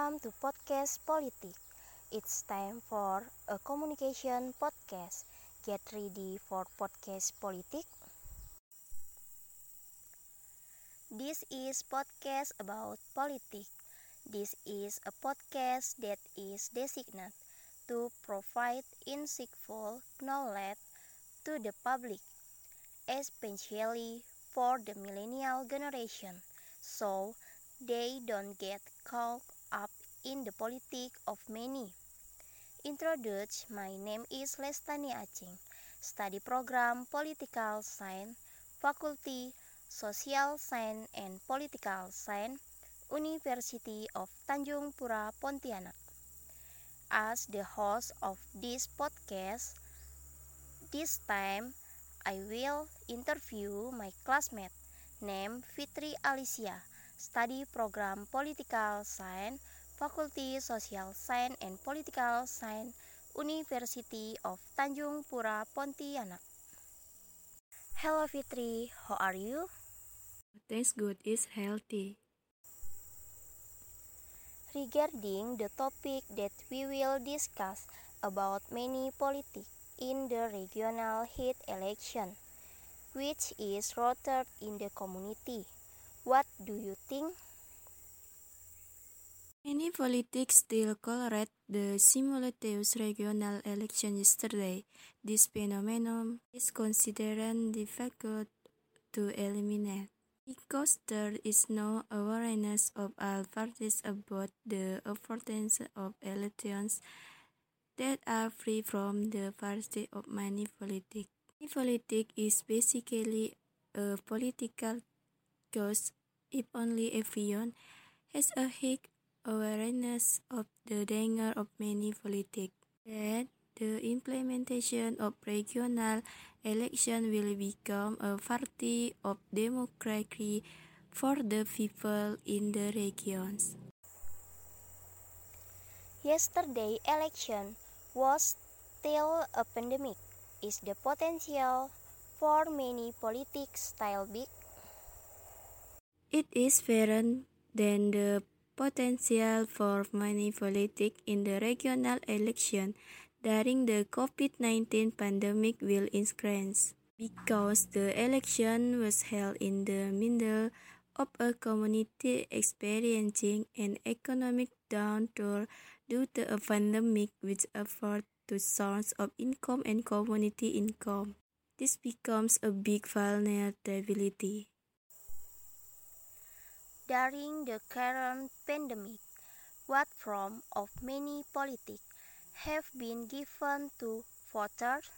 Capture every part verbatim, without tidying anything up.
welcome to Podcast Politik. It's time for a communication podcast. Get ready for Podcast Politik. This is podcast about politics. This is a podcast that is designated to provide insightful knowledge to the public, especially for the millennial generation, so they don't get caught up in the politics of many. Introduce, my name is Lestani Acing, study program Political Science, Faculty Social Science and Political Science, University of Tanjung Pura Pontianak. As the host of this podcast, this time I will interview my classmate named Fitri Alicia, study program Political Science, Faculty Social Science and Political Science, University of Tanjung Pura Pontianak. Hello Fitri, how are you? Thanks, good is healthy. Regarding the topic that we will discuss about many politics in the regional heat election, which is rooted in the community. What do you think? Many politics still colored the simultaneous regional election yesterday. This phenomenon is considered difficult to eliminate because there is no awareness of all parties about the importance of elections that are free from the party of manipulating. Manipulating is basically a political cause if only everyone has a high awareness of the danger of manipulating. Then the implementation of regional election will become a party of democracy for the people in the regions. Yesterday election was still a pandemic. Is the potential for many politics still big? It is fairer than the potential for manipulating in the regional election during the COVID nineteen pandemic will increase, because the election was held in the middle of a community experiencing an economic downturn due to a pandemic which affected the source of income and community income. This becomes a big vulnerability. During the current pandemic, what form of many politics have been given to voters?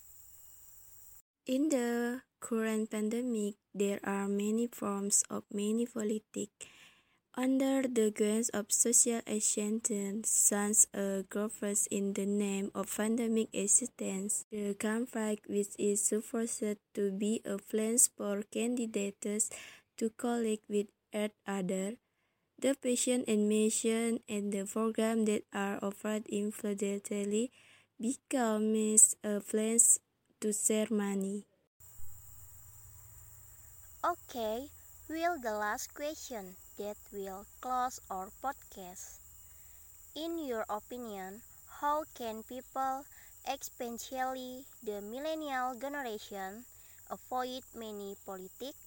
In the current pandemic, there are many forms of manipulating. Under the guise of social action, such as governments in the name of pandemic assistance, the campaign, which is supposed to be a place for candidates to collect with each other, the patient admission and the program that are offered infrequently becomes a place to share money. Okay, will the last question that will close our podcast. In your opinion, how can people, especially the millennial generation, avoid many politics?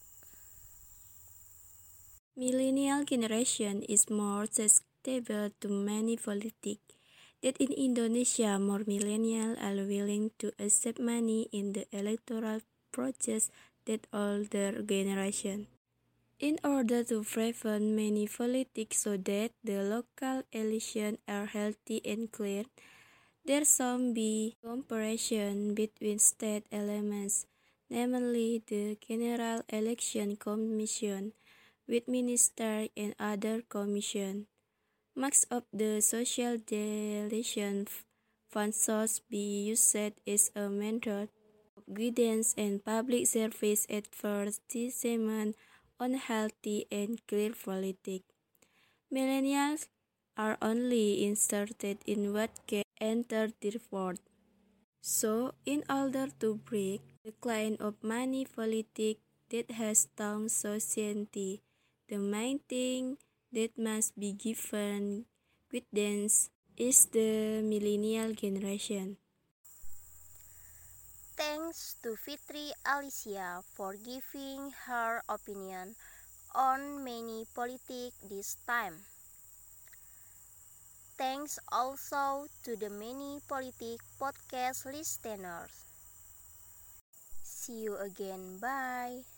Millennial generation is more susceptible to many politics. That in Indonesia, more millennials are willing to accept money in the electoral process than older generation. In order to prevent many politics so that the local elections are healthy and clear, there should be cooperation between state elements, namely the General Election Commission, with minister and other commission. Much of the social deletion funds should be used as a method of guidance and public service advertisement on healthy and clear politics. Millennials are only interested in what can enter their vote. So, in order to break the kind of money politics that has stung society, the main thing that must be given with dance is the millennial generation. Thanks to Fitri Alicia for giving her opinion on many politics this time. Thanks also to the many politic podcast listeners. See you again. Bye.